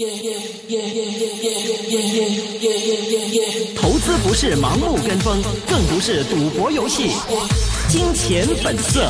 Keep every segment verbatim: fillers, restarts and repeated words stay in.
投資不是盲目跟風，更不是賭博遊戲。金錢本色。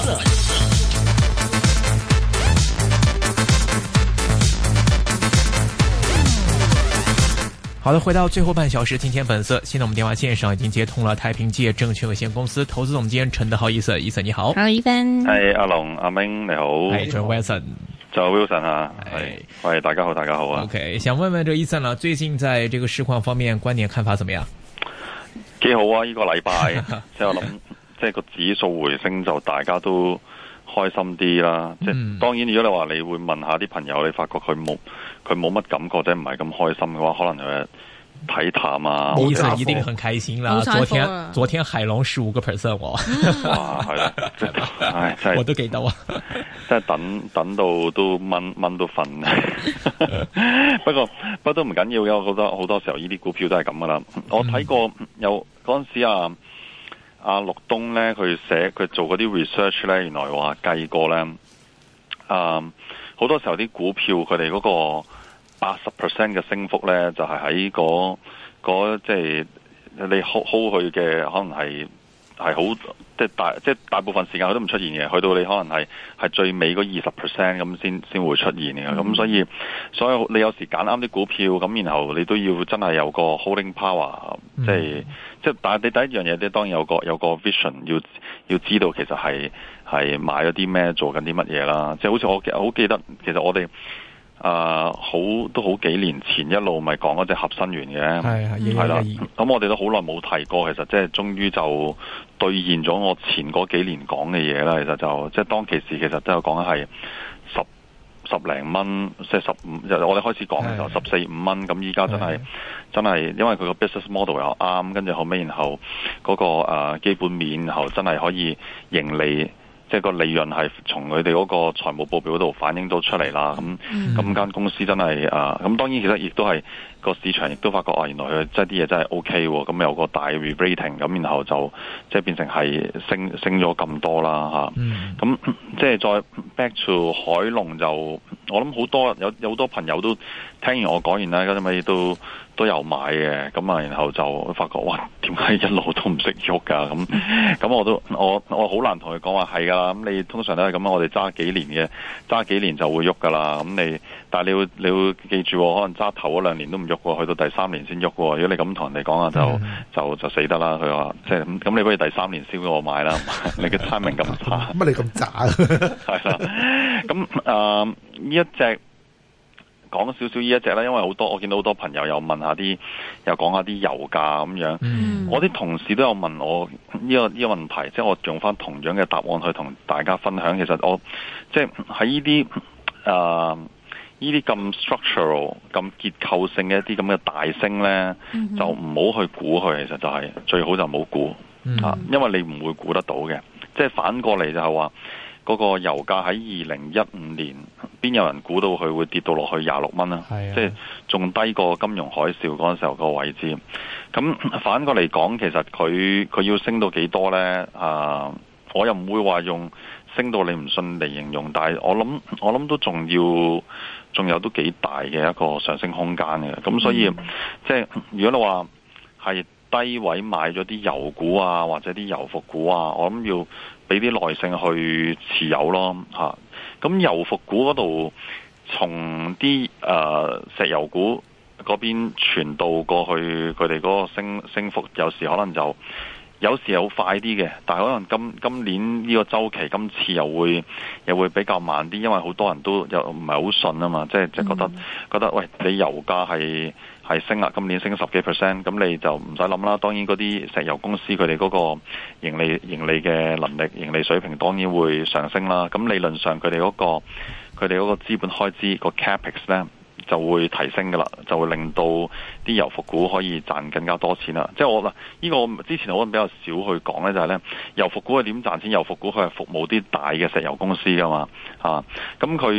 好的，回到最後半小時，金錢本色。現在我們電話線上已經接通了太平界證券有限公司投資總監陳德豪醫生，醫生你好。 好，醫生。 係阿龍，阿明你好。 係 John Wilson。 就 Wilson 啊，係，喂，大家好，大家好啊。 OK，想問問這醫生啦，最近在這個市況方面觀點看法怎麼樣？ 幾好啊！呢、這個禮拜，即係我諗，即係個指數回升就大家都開心啲啦。即係、嗯、當然，如果你話你會問下啲朋友，你發覺佢冇佢冇乜感覺，即係唔係咁開心嘅話，可能佢睇淡啊。 醫生一定很開心啦！昨天昨天海龍十五個 percent 喎。 哇，係啦，唉，真係我都記得啊。 即係等等到都掹掹到瞓，不過不過都唔緊要嘅。我覺得好多時候呢啲股票都係咁噶啦。我睇過有嗰陣時啊，阿陸東咧佢寫佢做嗰啲 research 咧，原來話計過咧，啊好多時候啲股票佢哋嗰個八十 percent 嘅升幅咧，就係喺嗰嗰即係你 hold hold 佢嘅可能係。係好即係大即係大部分時間佢都唔出現嘅，去到你可能係係最尾嗰二十 percent 咁先先會出現嘅。咁、嗯、所以所以你有時揀啱啲股票，咁然後你都要真係有個 holding power，嗯、即係即係但係你第一樣嘢，你當然有個有個 vision，要要知道其實係係買咗啲咩，做緊啲乜嘢啦。即係好似我好記得，其實我哋。啊、呃，好都好幾年前一路咪講嗰隻合生元嘅，係係啦，咁我哋都好耐冇提過，其實即係終於就兌現咗我前嗰幾年講嘅嘢啦。其實就即係當其時，其實都有講係十十零蚊，即係十五，我哋開始講嘅時候十四五蚊，咁依家真係真係，因為佢個 business model 又啱，跟住後尾然後嗰、嗰個、呃、基本面，然後真係可以盈利。即係個利潤係從佢哋嗰個財務報表嗰度反映到出嚟啦，咁咁間公司真係啊，咁當然其實亦都係個市場亦都發覺啊，原來佢即係啲嘢真係 O K 喎，咁有個大 re-rating，咁然後就即係變成係升升咗咁多啦嚇，咁、嗯、即係再 back to 海龍就我諗好多有有好多朋友都聽完我講完啦，嗰啲咪都都有買嘅，咁啊然後就發覺哇點解一路都唔識喐㗎咁，咁我都我我好難同佢講話係㗎。咁你通常都係咁啊！我哋揸幾年嘅，揸幾年就會喐噶啦。咁你，但係你要你要記住，可能揸頭嗰兩年都唔喐喎，去到第三年先喐喎。如果你咁同人哋講啊，就就就死得啦。佢話即係咁，你不如第三年先俾我買啦。你嘅 timing 咁差， 乜你咁渣？ 係啦。咁啊，呢、呃、一隻講少少呢一隻啦，因為好多我見到好多朋友又問下啲，又講下啲油價咁樣。嗯、我啲同事都有問我呢、這個呢、這個問題，即係我用翻同樣嘅答案去同大家分享。其實我即係喺呢啲啊呢啲咁 structural、咁結構性嘅一啲咁嘅大升咧，嗯、就唔好去估佢。其實就係、是、最好就唔好估啊，因為你唔會估得到嘅。即係反過嚟就係話。嗰個油價喺二零一五年，邊有人估到佢會跌到落去廿六蚊啊？係啊，即係仲低過金融海嘯嗰陣時候個位置。咁反過嚟講，其實佢佢要升到幾多呢？啊，我又唔會話用升到你唔信嚟形容，但係我諗我諗都仲要，仲有都幾大嘅一個上升空間嘅。咁所以、嗯、即係如果你話係低位買咗啲油股啊，或者啲油服股啊，我諗要俾啲耐性去持有咯嚇。咁油服股嗰度，從啲誒石油股嗰邊傳導過去，佢哋嗰個升升幅有時可能就有時好快啲嘅，但係可能今今年呢個週期今次又會又會比較慢啲，因為好多人都又唔係好信啊嘛，即係即係覺得、嗯、覺得喂，你油價係係升啦，今年升十幾 percent， 咁你就唔使諗啦。當然嗰啲石油公司佢哋嗰個盈利盈利嘅能力、盈利水平當然會上升啦。咁理論上佢哋嗰個佢哋嗰個資本開支、個 capex 咧就會提升噶啦，就會令到啲油服股可以賺更加多錢啦。即係我嗱，呢個我之前我比較少去講咧，就係咧油服股係點賺錢？油服股佢係服務啲大嘅石油公司噶嘛，啊，咁佢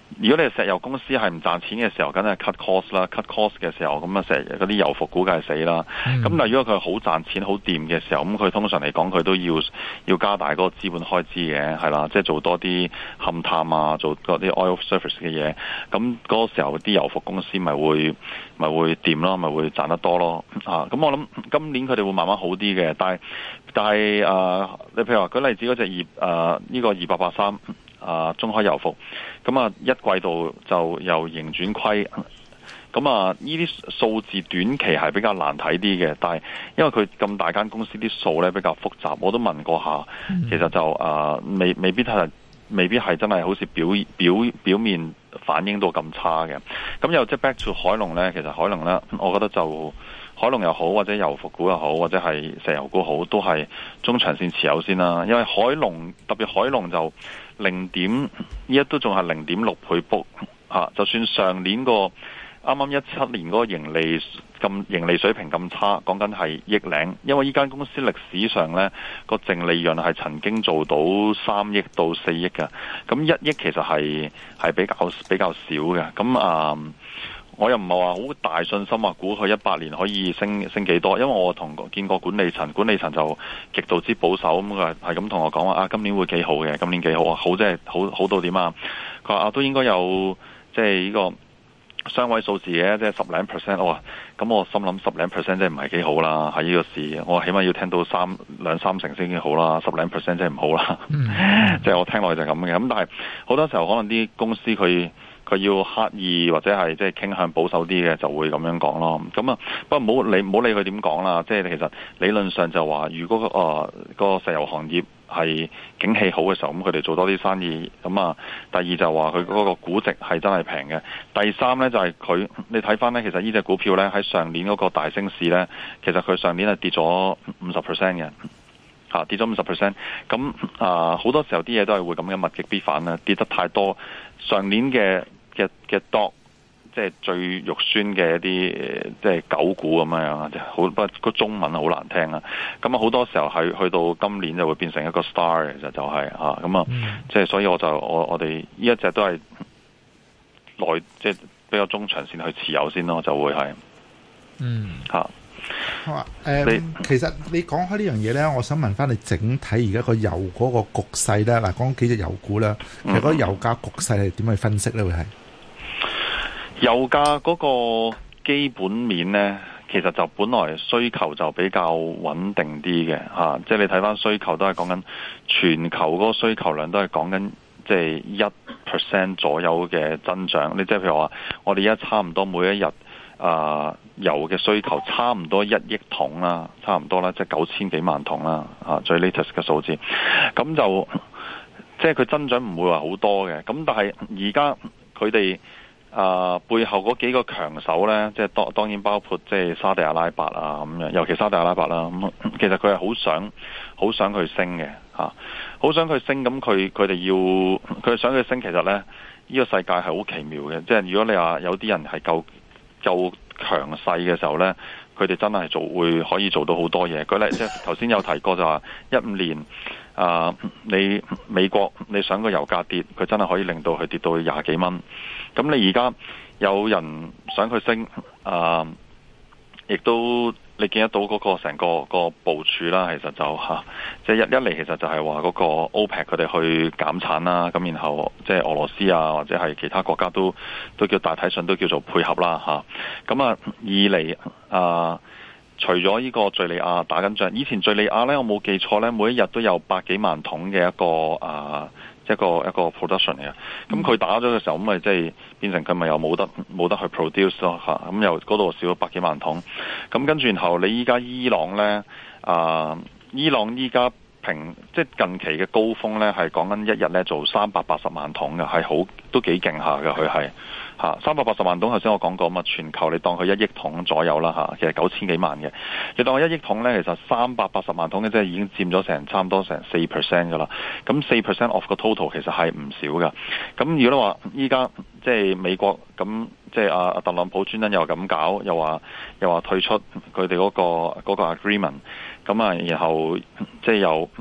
如果你係石油公司係唔賺錢嘅時候，梗係 cut cost 啦 ，cut cost 嘅時候，咁啊石嗰啲油服估計係死啦。咁、嗯、但係如果佢好賺錢、好掂嘅時候，咁佢通常嚟講佢都要要加大嗰個資本開支嘅，係啦，即係做多啲勘探啊，做嗰啲 oil service 嘅嘢。咁嗰個時候啲油服公司咪會咪會掂咯，咪會賺得多咯。啊，咁我諗今年佢哋會慢慢好啲嘅，但係但係誒、呃，你譬如話舉例子嗰隻二誒呢個二八八三。啊，中海油服，咁啊一季度就由盈轉虧，咁啊呢啲數字短期係比較難睇啲嘅，但係因為佢咁大間公司啲數咧比較複雜，我都問過下，其實就啊未未必係未必係真係好似表表表面反映到咁差嘅，咁又即係 back to 海龍咧，其實海龍咧，我覺得就。海龍又好，或者油服股又好，或者係石油股好，都係中長線持有先啦。因為海龍特別海龍就零點依家都仲係零點六倍 book 嚇，就算上年個啱啱一七年嗰個盈利咁盈利水平咁差，講緊係億零，因為依間公司歷史上呢個淨利潤係曾經做到三億到四億嘅，咁一億其實係係比較比較少嘅，咁啊。嗯我又唔係話好大信心話估佢一八年可以升升幾多，因為我同見過管理層，管理層就極度之保守，咁佢係咁同我講話啊，今年會幾好嘅，今年幾好啊，好即係好好到點啊？佢話啊都應該有即係呢個雙位數字嘅，即係十零 percent。我話咁我心諗十零 percent 即係唔係幾好啦，喺呢個市，我起碼要聽到三兩三成先幾好啦，十零 percent 即係唔好啦。即係我聽落去就係咁嘅，咁但係好多時候可能啲公司佢。佢要刻意或者係即係傾向保守啲嘅，就會咁樣講咯。咁啊，不過唔好理唔好理佢點講啦。即係其實理論上就話，如果個、呃個石油行業係景氣好嘅時候，咁佢哋做多啲生意。咁啊，第二就話佢嗰個估值係真係平嘅。第三呢，就係、是、佢，你睇翻呢，其實呢隻股票呢，喺上年嗰個大升市呢，其實佢上年係跌咗五十 percent 嘅。嚇、啊、跌咗五十 percent，咁啊好多時候啲嘢都係會咁嘅物極必反啦，跌得太多。上年嘅嘅嘅 dog， 即係最肉酸嘅一啲即係狗股咁樣啊，好不過個中文好難聽啊。咁啊好多時候係去到今年就會變成一個 star 其實就係嚇咁啊，即係所以我就我我哋呢一隻都係內即係比較中長線去持有先咯，就會係嗯嚇。啊好啊，誒、嗯，其實你講開呢樣嘢咧，我想問翻你整體而家個油嗰個局勢咧，嗱，講幾隻油股啦，其實嗰個油價局勢係點去分析咧？會係油價嗰個基本面咧，其實就本來需求就比較穩定啲嘅嚇，即係你睇翻需求都係講緊全球嗰個需求量都係講緊即係一 percent 左右嘅增長。你即係譬如話，我哋而家差唔多每一日。啊，油嘅需求差唔多一億桶啦，差唔多啦，即係九千幾萬桶啦，啊，最 latest 嘅數字，咁就即係佢增長唔會話好多嘅，咁但係而家佢哋啊背後嗰幾個強手呢，即係當當然包括即係沙地阿拉伯啊咁樣，尤其沙地阿拉伯啦，咁其實佢係好想好想去升嘅嚇，好想去升，咁佢佢哋要佢想去升，其實呢，呢、呢個世界係好奇妙嘅，即係如果你話有啲人係夠。夠強勢嘅時候呢，佢哋真係做會可以做到好多嘢。舉例即係頭先有提過就話一五年啊、呃，你美國你想個油價跌，佢真係可以令到佢跌到廿幾蚊。咁你而家有人想佢升啊，亦、呃、都你見得到嗰個成個個部署啦。其實就嚇，即、啊、係、就是、一一嚟其實就係話嗰個 OPEC 佢哋去減產啦。咁然後即係俄羅斯啊，或者係其他國家都都叫大體上都叫做配合啦嚇。咁啊，二嚟啊，除咗呢個敍利亞打緊仗，以前敍利亞咧，我冇記錯咧，每一日都有百幾萬桶嘅一個啊。一個一個 production 嚟嘅，咁佢打咗嘅時候，咁咪即係變成佢咪又冇得冇得去 produce 咯嚇，咁又嗰度少咗百幾萬桶，咁跟住然後你依家伊朗咧啊，伊朗依家平即係近期嘅高峰咧，係講緊一日咧做三百八十萬桶嘅，係好都幾勁下嘅，佢係嚇三百八十萬桶。頭先我講過嘛，全球你當佢一億桶左右啦嚇，其實九千幾萬嘅，你當佢一億桶咧，其實三百八十萬桶嘅即係已經佔咗成差唔多成四 percent 噶啦。咁四 percent of 個 total 其實係唔少噶。咁如果你話依家即係美國咁，即係阿阿特朗普專登又咁搞，又話又話退出佢哋嗰個嗰個 agreement。咁啊，然後即係又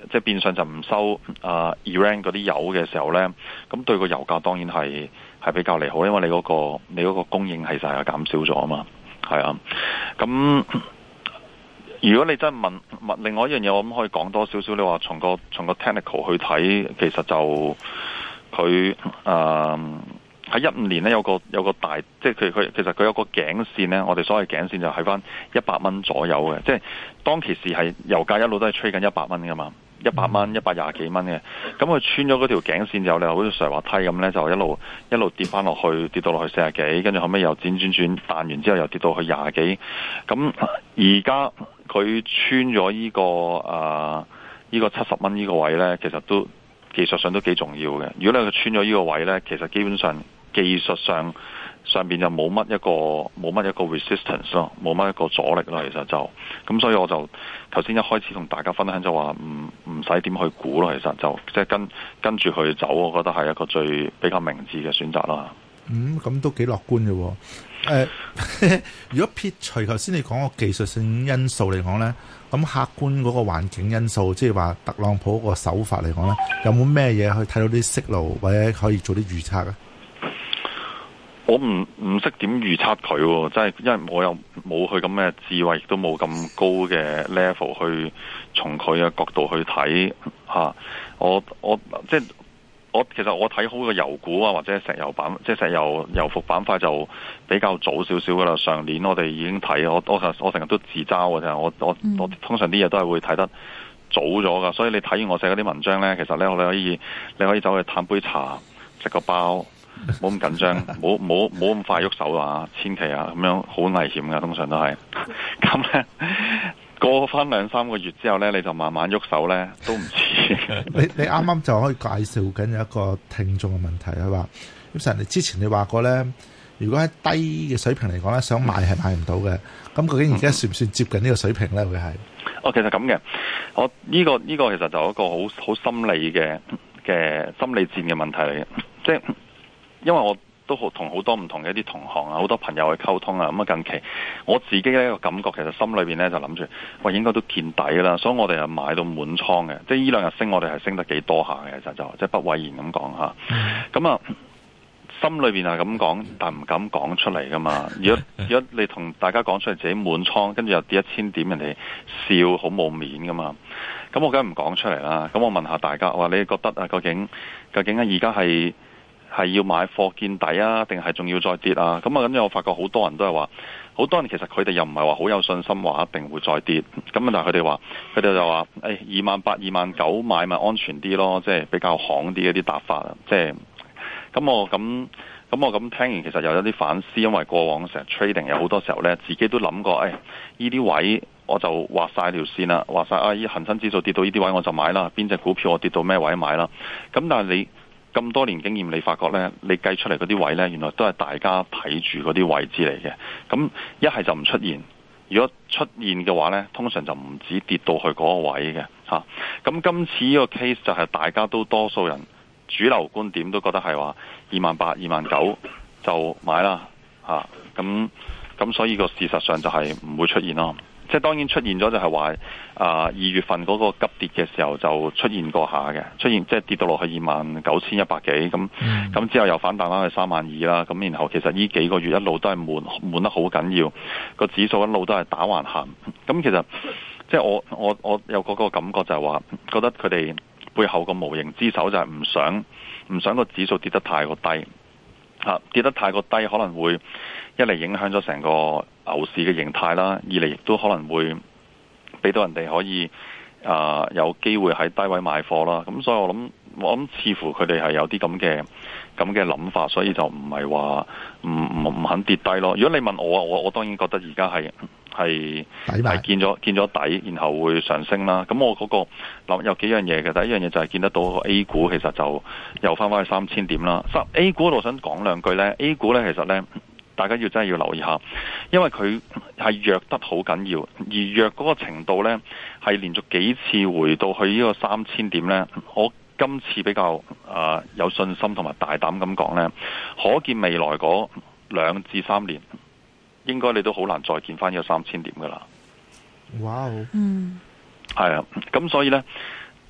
即係變相就唔收啊 Iran 嗰啲油嘅時候咧，咁對個油價當然係係比較利好，因為你嗰個你嗰個供應係實係減少咗啊嘛，係啊，咁。如果你真係問問另外一樣嘢，我諗可以講多少少。你話從個從個 technical 去睇，其實就佢誒喺一五年咧有個有個大，即係佢佢其實佢有個頸線咧。我哋所謂頸線就喺翻一百蚊左右嘅，即係當其時係油價一路都係吹緊一百蚊噶嘛，一百蚊一百廿幾蚊嘅。咁佢穿咗嗰條頸線之後咧，好似上滑梯咁咧，就一路一路跌翻落去，跌到落去四十幾，跟住後尾又轉轉轉彈完之後又跌到去廿幾。咁而家佢穿咗呢、這個啊呢、這個七十蚊呢個位呢，其實都技術上都幾重要嘅。如果你佢穿咗呢個位呢，其實基本上技術上上邊就冇乜一個冇乜一個 resistance 咯，冇乜一個阻力咯。其實就咁，所以我就頭先一開始同大家分享就話唔唔使點去估咯。其實就即係跟跟住去走，我覺得係一個最比較明智嘅選擇啦。 嗯，咁都幾樂觀嘅喎。誒、呃，如果撇除頭先你講個技術性因素嚟講咧，咁客觀嗰個環境因素，即係話特朗普嗰個手法嚟講咧，有冇咩嘢去睇到啲息路或者可以做啲預測啊？ 我唔唔識點預測佢，即係因為我又冇去咁嘅智慧，亦都冇咁高嘅 level 去從佢嘅角度去睇吓、啊。我我即係。我其實我睇好個油股啊，或者石油板，即係石油油服板塊就比較早少少噶啦。上年我哋已經睇，我我我成日都自嘲嘅啫。我我我通常啲嘢都係會睇得早咗噶，所以你睇完我寫嗰啲文章咧，其實咧我哋可以你可以走去嘆杯茶，食個包，冇咁緊張，冇冇冇咁快喐手啊，千祈啊，咁樣好危險噶，通常都係咁咧。過翻兩三個月之後咧，你就慢慢喐手咧，都唔遲。 你你啱啱就可以介紹緊有一個聽眾嘅問題係話，咁實你之前你話過咧，如果喺低嘅水平嚟講咧，想買係買唔到嘅。咁究竟而家算唔算接近呢個水平咧？會係？哦， 其實咁嘅，我呢個呢個其實就係一個好好心理嘅嘅心理戰嘅問題嚟嘅，即係因為我。都好同好多唔同嘅一啲同行啊，好多朋友去溝通啊。咁啊，近期我自己呢個感覺，其實心裏邊咧就諗住，喂，應該都見底啦。所以我哋係買到滿倉嘅，即係呢兩日升，我哋係升得幾多下嘅，就就即係不諱言咁講吓。咁啊，心裏邊係咁講，但唔敢講出嚟噶嘛。如果如果你同大家講出嚟自己滿倉，跟住又跌一千點，人哋笑好冇面噶嘛。咁我梗係唔講出嚟啦。咁我問下大家，話你覺得啊，究竟究竟啊，而家係？係要買貨見底啊，定係仲要再跌啊？咁啊，咁我發覺好多人都係話，好多人其實佢哋又唔係話好有信心話一定會再跌。咁但係佢哋話，佢哋就話，誒，二萬八、二萬九買咪安全啲咯，即係比較行啲一啲答法啊。即係咁我咁咁我咁聽完，其實又有啲反思，因為過往成日 trading 有好多時候呢，自己都諗過，誒，呢啲位我就畫晒條線啦，畫晒啊，依恒生指數跌到呢啲位我就買啦，邊隻股票我跌到咩位買啦。咁但係你咁多年經驗，你發覺呢，你計出嚟嗰啲位呢，原來都係大家睇住嗰啲位置嚟嘅。咁一係就唔出現，如果出現嘅話呢，通常就唔止跌到去嗰個位嘅嚇。咁今次呢個 case 就係大家都多數人主流觀點都覺得係話二萬八、二萬九就買啦嚇。咁咁所以個事實上就係唔會出現咯。即係當然出現咗就係話啊二月份嗰個急跌嘅時候就出現過下嘅，出現即係跌到落去二萬九千一百幾咁，咁、嗯、之後又反彈翻去三萬二啦。咁然後其實呢幾個月一路都係悶悶得好緊要，個指數一路都係打橫行。咁其實即係我我我有嗰個感覺就係話，覺得佢哋背後個無形之手就係唔想唔想個指數跌得太過低嚇，跌得太過低可能會一嚟影響咗成個牛市嘅形態啦，二嚟亦都可能會俾到人哋可以啊、呃、有機會喺低位買貨啦。咁所以我諗我諗似乎佢哋係有啲咁嘅咁嘅諗法，所以就唔係話唔唔唔肯跌低咯。如果你問我啊，我我當然覺得而家係係係見咗見咗底，然後會上升啦。咁我嗰個諗有幾樣嘢嘅，第一樣嘢就係見得到 A 股其實就又翻返去三千點啦。A 股我想講兩句呢， A 股呢其實呢。大家要真係要留意下，因為佢係弱得好緊要，而弱嗰個程度呢，係連續幾次回到去呢個三千點呢。我今次比較啊、呃、有信心同埋大膽咁講呢，可見未來嗰兩至三年，應該你都好難再見翻呢個三千點噶啦。 哇！ 嗯，係啊，咁所以呢，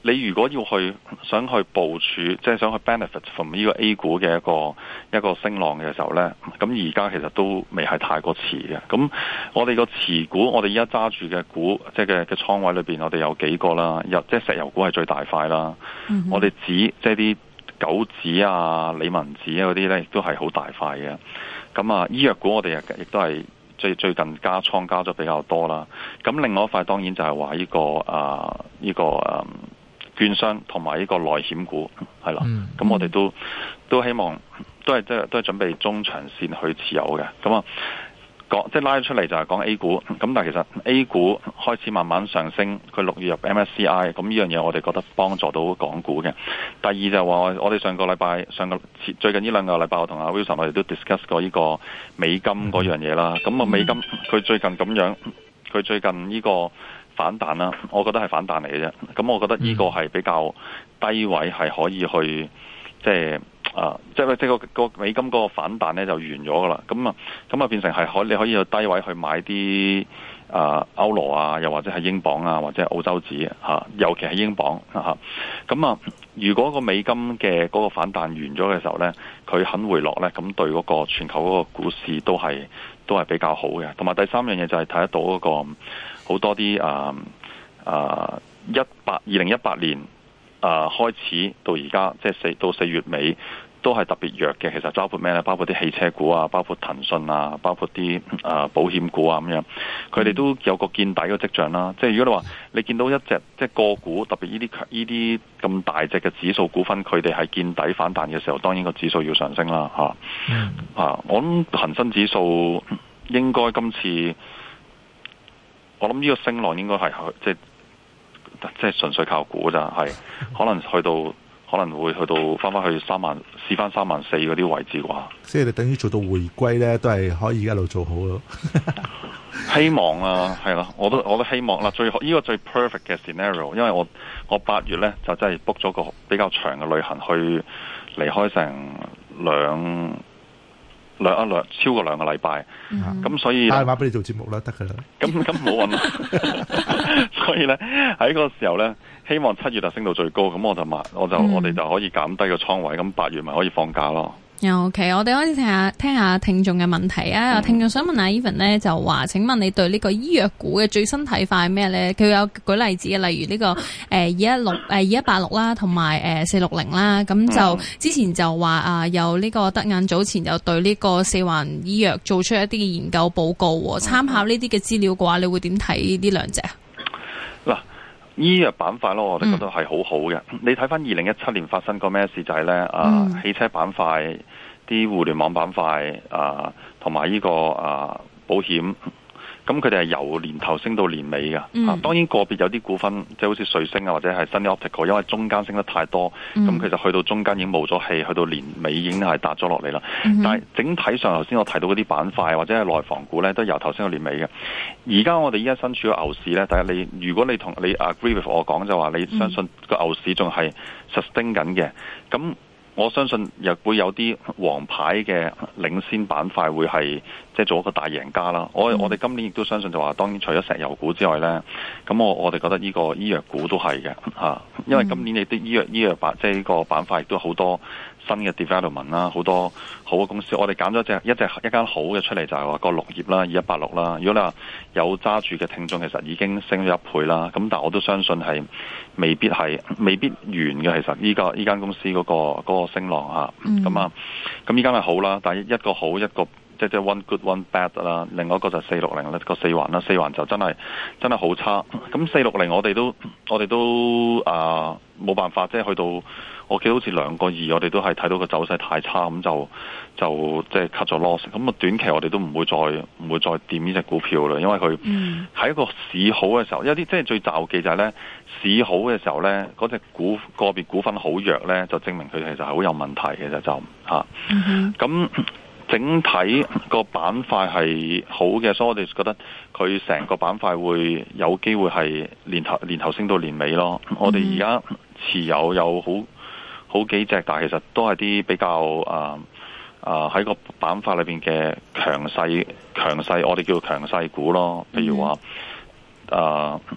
你如果要去想去部署，即係想去 benefit from 呢個 A 股嘅一個一個升浪嘅時候呢，咁而家其實都未係太過遲嘅。咁我哋個持股，我哋而家揸住嘅股，即係嘅嘅倉位裏邊，我哋有幾個啦，有即係石油股係最大塊啦。Mm-hmm. 我哋指即係啲玖紙啊、理文紙啊嗰啲呢，亦都係好大塊嘅。咁啊，醫藥股我哋亦都係最最近加倉加咗比較多啦。咁另外一塊當然就係話呢個啊呢、呢個啊。券商同埋呢個內險股係啦，咁、嗯、我哋都都希望都係即係都係準備中長線去持有嘅。咁啊，講即係拉出嚟就係講 A 股，咁但係其實 A 股開始慢慢上升，佢六月入 M S C I， 咁呢樣嘢我哋覺得幫助到港股嘅。第二就係話我哋上個禮拜上個最近呢兩個禮拜，我同阿 Wilson 我哋都 discuss 過呢個美金嗰樣嘢啦。咁啊美金佢最近咁樣，佢最近呢個反彈啦，我覺得係反彈嚟嘅啫。咁我覺得呢個係比較低位，係可以去即係啊，即係即係個個美金嗰個反彈咧就完咗噶啦。咁啊，咁啊變成係可你可以去低位去買啲啊歐羅啊，又或者係英鎊啊，或者係澳洲紙嚇，尤其係英鎊嚇。咁啊，如果個美金嘅嗰個反彈完咗嘅時候咧，佢肯回落咧，咁對嗰個全球嗰個股市都係都係比較好嘅。同埋第三樣嘢就係睇得到嗰個。好多啲啊啊一八二零一八年啊開始到而家，即係四到四月尾都係特別弱嘅。其實包括咩咧？包括啲汽車股啊，包括騰訊啊，包括啲啊保險股啊咁樣，佢哋都有個見底嘅跡象啦。即係如果你話你見到一隻即係個股，特別呢啲呢啲咁大隻嘅指數股份，佢哋係見底反彈嘅時候，當然個指數要上升啦嚇。嗯、啊，我諗恒生指數應該今次。我諗呢個升浪應該係即係即係純粹靠估咋，係可能去到可能會去到翻翻去三萬試翻三萬四嗰啲位置啩。 即係你等於做到回歸咧，都係可以一路做好咯。 希望啊，係啦，我都我都希望啦。最好呢個最 perfect 嘅 scenario， 因為我我八月咧就真係 book 咗個比較長嘅旅行去離開成兩。兩一兩超過兩個禮拜，咁、嗯、所以打電話俾你做節目啦，得噶啦。 咁咁冇揾，所以咧喺嗰個時候咧，希望七月就升到最高，咁我就買，我就、嗯、我哋就可以減低個倉位，咁八月咪可以放假咯。 OK，我哋開始聽下聽下聽眾嘅問題啊！嗯、聽眾想問下 Evan 咧，就話請問你對呢個醫藥股嘅最新睇法係咩咧？佢有舉例子嘅，例如呢、這個誒二一六誒二一八六啦，同埋誒四六零啦。咁就之前就話啊，有呢個德銀早前就對呢個四環醫藥做出一啲嘅研究報告，參考呢啲嘅資料嘅話，你會點睇呢兩隻啊？嗱， 醫藥板塊咯，我哋覺得係好好嘅。嗯、你睇翻二零一七年發生過咩事就係咧啊，汽車板塊。啲互聯網板塊啊，同埋呢個啊保險，咁佢哋係由年頭升到年尾嘅。嗯、啊，當然個別有啲股份，即係好似瑞星啊，或者係 Sunny Optical，因為中間升得太多，咁、嗯、其實去到中間已經冇咗氣，去到年尾已經係達咗落嚟啦。嗯、但係整體上，頭先我提到嗰啲板塊或者係內房股咧，都由頭升到年尾嘅。而家我哋依家身處嘅牛市咧，但係你如果你同你 agree with 我講就話，你相信個牛市仲係 sustain 緊嘅，咁。我相信又會有啲王牌嘅領先板塊會係即係做一個大贏家啦。我我哋今年亦都相信就話，當然除咗石油股之外咧，咁我我哋覺得呢個醫藥股都係嘅嚇，因為今年你啲醫藥醫藥板即係呢個板塊亦都好多新嘅 development 啦，好多好嘅公司。我哋揀咗隻一隻一間好嘅出嚟，就係話個綠葉啦，二一八六啦。如果你話有揸住嘅聽眾，其實已經升咗一倍啦。咁但係我都相信係未必係未必完嘅。其實呢個呢間公司嗰個嗰個升浪嚇，咁啊，咁呢間係好啦，但係一個好一個即係即係 one good one bad 啦。另外一個就四六零啦，個四環啦，四環就真係真係好差。咁四六零我哋都我哋都啊冇辦法，即係去到。我記得好似兩個二，我哋都係睇到個走勢太差，咁就就即係 cut 咗 loss。咁啊短期我哋都唔會再唔會再掂呢隻股票啦，因為佢喺一個市好嘅時候，有啲即係最詐忌就係咧市好嘅時候咧，嗰隻股個別股份好弱咧，就證明佢其實係好有問題嘅就就嚇。咁整體個板塊係好嘅，所以我哋覺得佢成個板塊會有機會係年頭年頭升到年尾咯。我哋而家持有有好。好幾隻，但係其實都係啲比較啊啊喺個板塊裏邊嘅強勢強勢，我哋叫強勢股咯。譬如話啊，即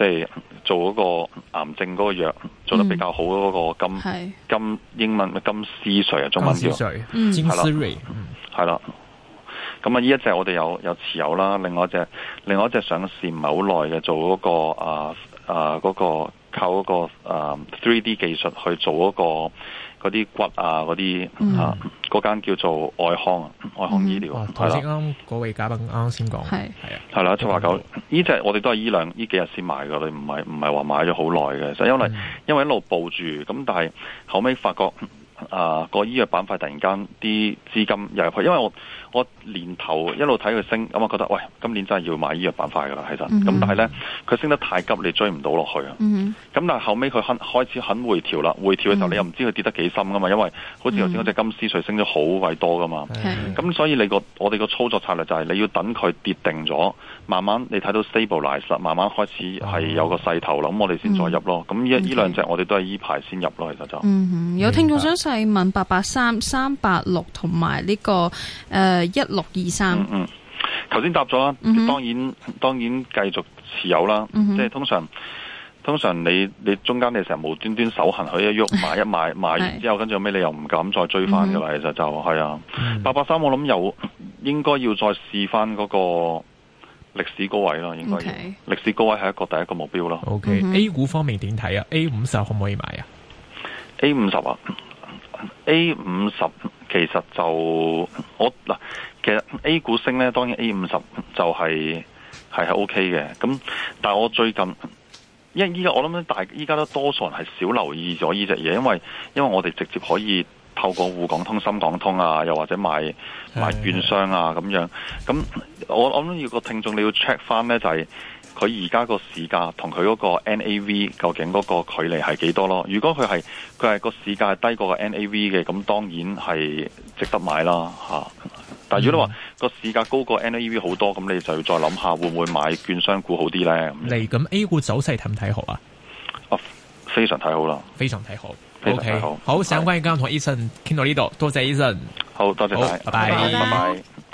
即係做嗰個癌症嗰個藥做得比較好嗰個金、 嗯、 金英文金絲瑞啊，中文叫金絲瑞， 係啦。咁啊，呢一隻我哋有有持有啦，另外一隻另外一隻上市唔係好耐嘅，做嗰、嗰個啊啊嗰個靠嗰、嗰個啊 three D 技術去做嗰、嗰個嗰啲骨啊嗰啲、嗯、啊嗰間叫做愛康啊，愛康醫療。 頭先啱嗰位嘉賓啱先講，係係啊，係啦，七話九呢隻我哋都係依兩呢幾日先買㗎，你唔係唔係話買咗好耐嘅，就因為、嗯、因為一路抱住，咁但係後尾發覺。啊！個醫藥板塊突然間啲資金入入去，因為我我年頭一路睇佢升，咁我覺得喂，今年真係要買醫藥板塊㗎啦，其實。咁、mm-hmm. 但係咧，佢升得太急，你追唔到落去啊。咁、mm-hmm. 但係後尾佢肯開始肯回調啦，回調嘅時候、mm-hmm. 你又唔知佢跌得幾深㗎嘛，因為好似頭先嗰隻金絲穗升咗好鬼多㗎嘛。咁、mm-hmm. 所以你個我哋個操作策略就係你要等佢跌定咗，慢慢你睇到 stabilize 啦，慢慢開始係有個勢頭啦，咁、mm-hmm. 我哋先再入咯。咁呢呢兩隻我哋都係依排先入咯，其實就。 Mm-hmm. 有聽眾想細問八八三、三八六同埋呢個誒一六二三。 嗯嗯，頭先答咗啦、嗯，當然當然繼續持有啦。嗯、即係通常通常你你中間你成日無端端手痕佢一喐買一買買完之後，跟住後尾你又唔敢再追翻噶啦。其實就係啊，八八三我諗又應該要再試翻嗰個歷史高位咯，應該要。歷、okay. 史高位係一個第一個目標咯。 O、okay. K，A、嗯、股方面點睇啊 ？A 五十可唔可以買啊 ？A 五十啊？A 五十其實就我嗱，其實 A 股升咧，當然 A 五十就係係係 O K 嘅。咁但係我最近，因為依家我諗咧，大依家都多數人係少留意咗呢隻嘢，因為因為我哋直接可以透過滬港通、深港通啊，又或者買買券商啊咁樣。咁我我諗要個聽眾你要 check 翻咧，就係、是。佢而家個市價同佢嗰個 N A V 究竟嗰個距離係幾多咯？如果佢係佢係個市價係低過個 N A V 嘅，咁當然係值得買啦嚇。但係如果你話個市價高過 N A V 好多，咁你就要再諗下會唔會買券商股好啲咧？ 嚟咁 A 股走勢睇唔睇好啊？ 啊，非常睇好啦， 非常睇好， 非常睇好。 Okay. 好，相關嘅今日同 Eason 傾到呢度，多謝 Eason， 好多謝晒， 拜拜， 拜拜。